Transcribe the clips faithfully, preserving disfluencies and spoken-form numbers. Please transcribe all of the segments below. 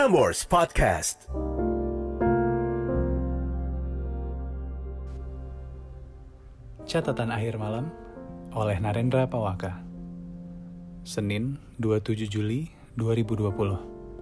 Prambors Podcast. Catatan akhir malam oleh Narendra Pawaka. Senin, dua puluh tujuh Juli dua ribu dua puluh.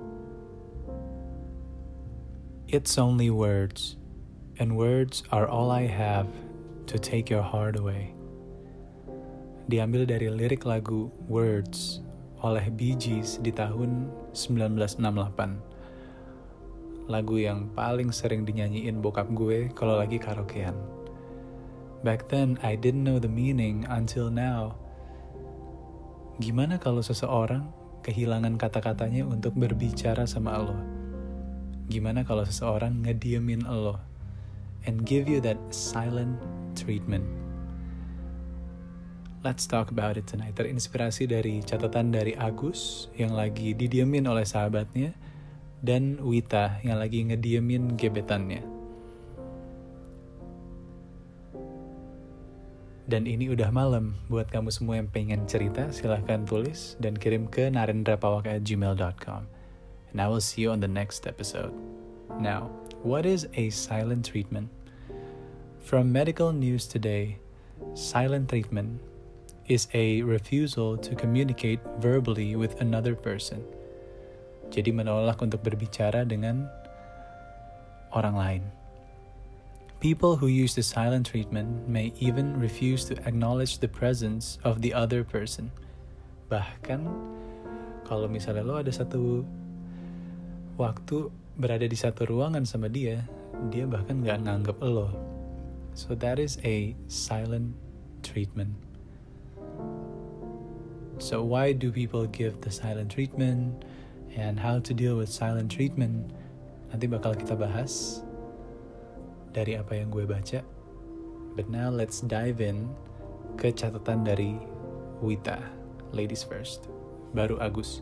It's only words, and words are all I have to take your heart away. Diambil dari lirik lagu Words oleh Bee Gees di tahun sembilan belas enam puluh delapan. Lagu yang paling sering dinyanyiin bokap gue kalau lagi karaokean. Back then, I didn't know the meaning until now. Gimana kalau seseorang kehilangan kata-katanya untuk berbicara sama lo? Gimana kalau seseorang ngediemin lo? And give you that silent treatment. Let's talk about it tonight. Terinspirasi dari catatan dari Agus yang lagi didiemin oleh sahabatnya dan Wita yang lagi ngediemin gebetannya. Dan ini udah malam. Buat kamu semua yang pengen cerita, silahkan tulis dan kirim ke narendrapawaka at gmail dot com. And I will see you on the next episode. Now, what is a silent treatment? From Medical News Today, silent treatment is a refusal to communicate verbally with another person. Jadi menolak untuk berbicara dengan orang lain. People who use the silent treatment may even refuse to acknowledge the presence of the other person. Bahkan, kalau misalnya lo ada satu waktu berada di satu ruangan sama dia, dia bahkan gak nganggep lo. So that is a silent treatment. So why do people give the silent treatment? And how to deal with silent treatment? Nanti bakal kita bahas dari apa yang gue baca. But now let's dive in ke catatan dari Wita. Ladies first. Baru Agus.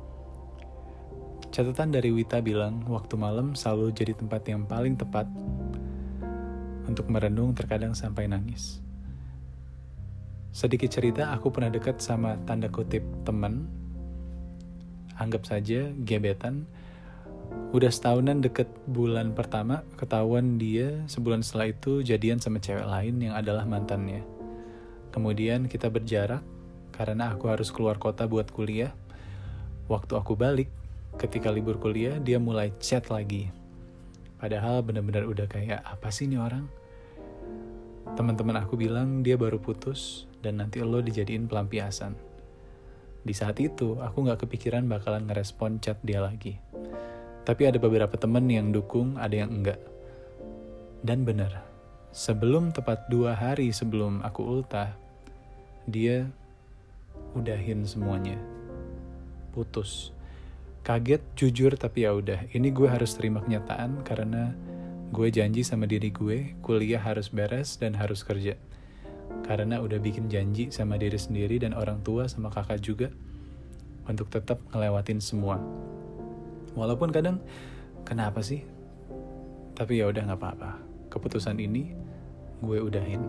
Catatan dari Wita bilang, waktu malam selalu jadi tempat yang paling tepat untuk merenung, terkadang sampai nangis. Sedikit cerita, aku pernah dekat sama tanda kutip teman. Anggap saja gebetan. Udah setahunan deket bulan pertama, ketahuan dia sebulan setelah itu jadian sama cewek lain yang adalah mantannya. Kemudian kita berjarak karena aku harus keluar kota buat kuliah. Waktu aku balik, ketika libur kuliah, dia mulai chat lagi. Padahal benar-benar udah kayak, apa sih ini orang? Teman-teman aku bilang dia baru putus dan nanti lo dijadiin pelampiasan. Di saat itu, aku gak kepikiran bakalan ngerespon chat dia lagi. Tapi ada beberapa temen yang dukung, ada yang enggak. Dan benar, sebelum tepat dua hari sebelum aku ultah, dia udahin semuanya. Putus. Kaget, jujur, tapi ya udah. Ini gue harus terima kenyataan karena gue janji sama diri gue, kuliah harus beres dan harus kerja. Karena udah bikin janji sama diri sendiri dan orang tua sama kakak juga untuk tetap ngelewatin semua. Walaupun kadang, kenapa sih? Tapi ya udah nggak apa-apa. Keputusan ini gue udahin.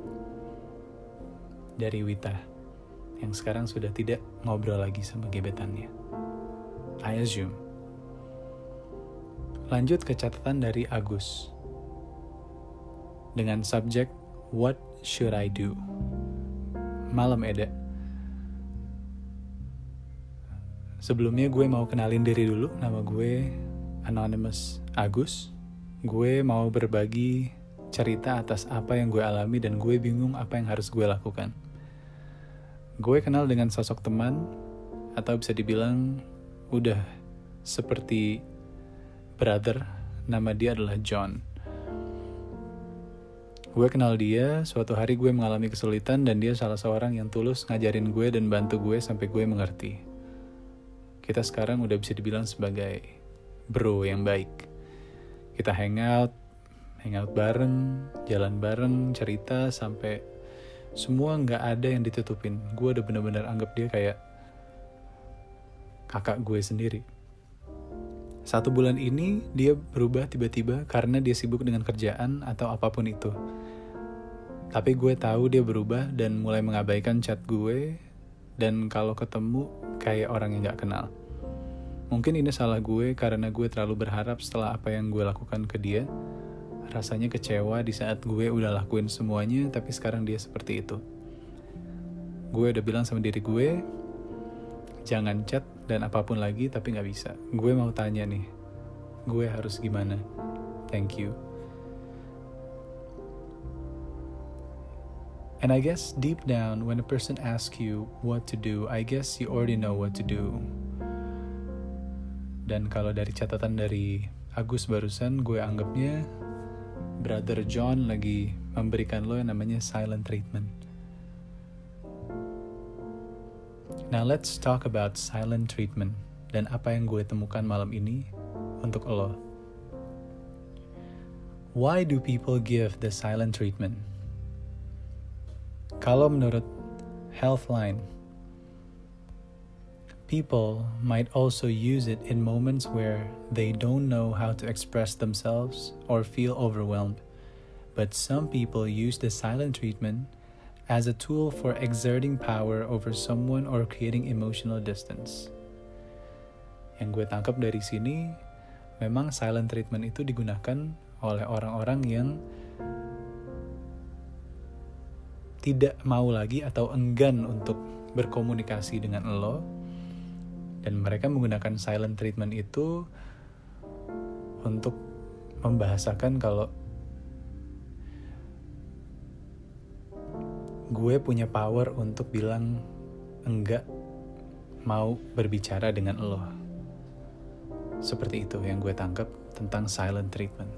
Dari Wita, yang sekarang sudah tidak ngobrol lagi sama gebetannya. I assume. Lanjut ke catatan dari Agus. Dengan subjek, What should I do? Malam Eda. Sebelumnya gue mau kenalin diri dulu. Nama gue Anonymous Agus. Gue mau berbagi cerita atas apa yang gue alami dan gue bingung apa yang harus gue lakukan. Gue kenal dengan sosok teman, atau bisa dibilang udah seperti brother. Nama dia adalah John. Gue kenal dia, suatu hari gue mengalami kesulitan dan dia salah seorang yang tulus ngajarin gue dan bantu gue sampai gue mengerti. Kita sekarang udah bisa dibilang sebagai bro yang baik. Kita hangout, hangout bareng, jalan bareng, cerita sampai semua gak ada yang ditutupin. Gue udah bener-bener anggap dia kayak kakak gue sendiri. Satu bulan ini dia berubah tiba-tiba karena dia sibuk dengan kerjaan atau apapun itu. Tapi gue tahu dia berubah dan mulai mengabaikan chat gue dan kalau ketemu kayak orang yang gak kenal. Mungkin ini salah gue karena gue terlalu berharap setelah apa yang gue lakukan ke dia. Rasanya kecewa di saat gue udah lakuin semuanya, tapi sekarang dia seperti itu. Gue udah bilang sama diri gue, jangan chat dan apapun lagi, tapi gak bisa. Gue mau tanya nih, gue harus gimana? Thank you. And I guess deep down, when a person asks you what to do, I guess you already know what to do. Dan kalau dari catatan dari Agus barusan, gue anggapnya Brother John lagi memberikan lo yang namanya silent treatment. Now let's talk about silent treatment dan apa yang gue temukan malam ini untuk lo. Why do people give the silent treatment? Kalau menurut Healthline, people might also use it in moments where they don't know how to express themselves or feel overwhelmed. But some people use the silent treatment as a tool for exerting power over someone or creating emotional distance. Yang gue tangkap dari sini, memang silent treatment itu digunakan oleh orang-orang yang tidak mau lagi atau enggan untuk berkomunikasi dengan lo. Dan mereka menggunakan silent treatment itu untuk membahasakan kalau gue punya power untuk bilang enggak mau berbicara dengan lo. Seperti itu yang gue tangkap tentang silent treatment.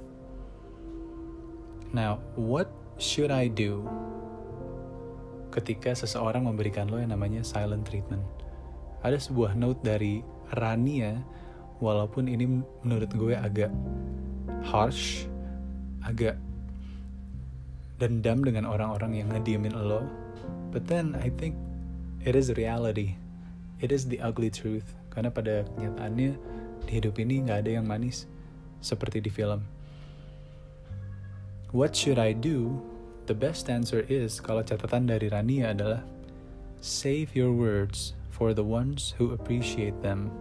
Now, what should I do ketika seseorang memberikan lo yang namanya silent treatment? Ada sebuah note dari Rania, walaupun ini menurut gue agak harsh, agak dendam dengan orang-orang yang ngediemin lo. But then I think it is reality. It is the ugly truth. Karena pada kenyataannya di hidup ini gak ada yang manis seperti di film. What should I do? The best answer is, kalau catatan dari Rania adalah, save your words for the ones who appreciate them.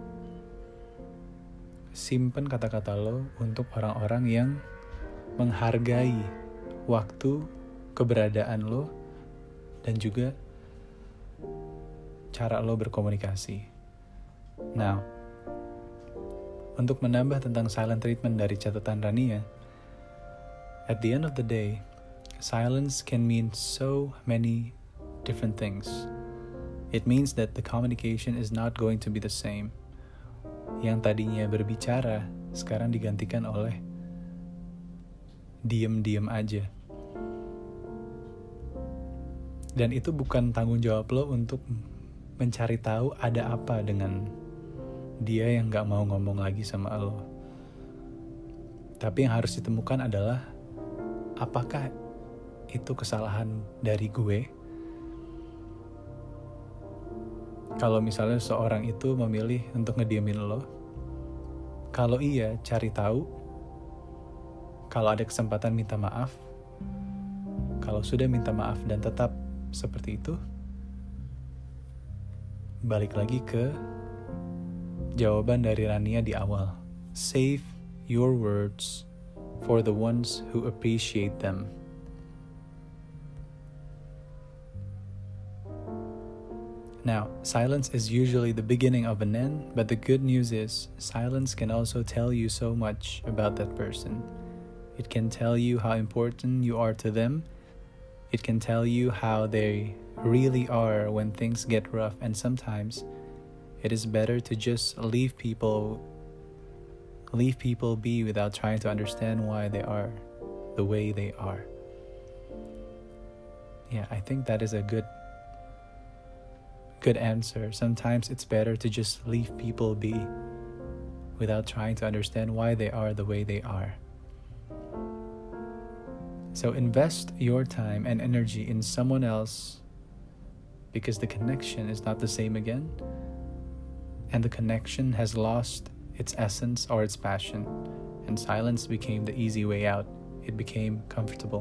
Simpen kata-kata lo untuk orang-orang yang menghargai waktu, keberadaan lo, dan juga cara lo berkomunikasi. Now, untuk menambah tentang silent treatment dari catatan Rania, at the end of the day, silence can mean so many different things. It means that the communication is not going to be the same. Yang tadinya berbicara, sekarang digantikan oleh diem-diem aja. Dan itu bukan tanggung jawab lo untuk mencari tahu ada apa dengan dia yang gak mau ngomong lagi sama lo. Tapi yang harus ditemukan adalah, apakah itu kesalahan dari gue? Kalau misalnya seorang itu memilih untuk ngediemin lo, kalau iya, cari tahu. Kalau ada kesempatan, minta maaf. Kalau sudah minta maaf dan tetap seperti itu, balik lagi ke jawaban dari Rania di awal. Save your words for the ones who appreciate them. Now, silence is usually the beginning of an end, but the good news is, silence can also tell you so much about that person. It can tell you how important you are to them. It can tell you how they really are when things get rough, and sometimes it is better to just leave people leave people be without trying to understand why they are the way they are. Yeah, I think that is a good good answer. Sometimes it's better to just leave people be without trying to understand why they are the way they are. So invest your time and energy in someone else, because the connection is not the same again, and the connection has lost its essence or its passion, and silence became the easy way out. It became comfortable.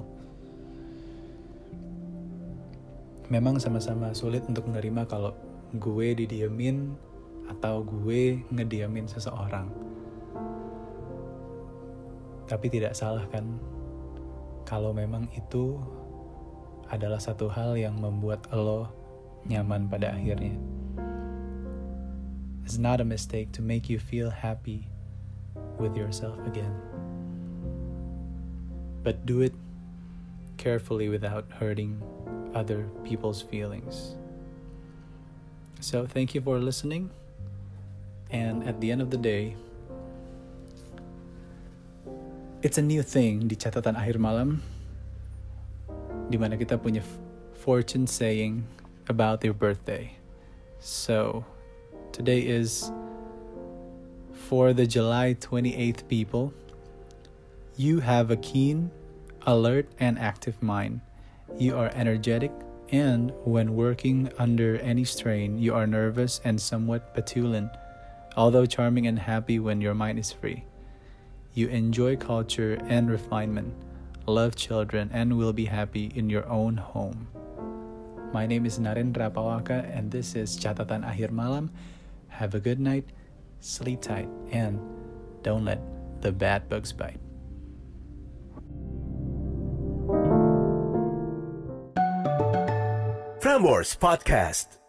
Memang sama-sama sulit untuk menerima kalau gue didiemin atau gue ngediamin seseorang. Tapi tidak salah kan kalau memang itu adalah satu hal yang membuat lo nyaman pada akhirnya. It's not a mistake to make you feel happy with yourself again. But do it carefully without hurting other people's feelings. So thank you for listening. And at the end of the day, it's a new thing di catatan akhir malam, di mana kita punya fortune saying about your birthday. So today is for the July twenty-eighth people. You have a keen, alert, and active mind. You are energetic, and when working under any strain, you are nervous and somewhat petulant, although charming and happy when your mind is free. You enjoy culture and refinement, love children, and will be happy in your own home. My name is Narendra Pawaka, and this is Catatan Akhir Malam. Have a good night, sleep tight, and don't let the bad bugs bite. Prambors Podcast.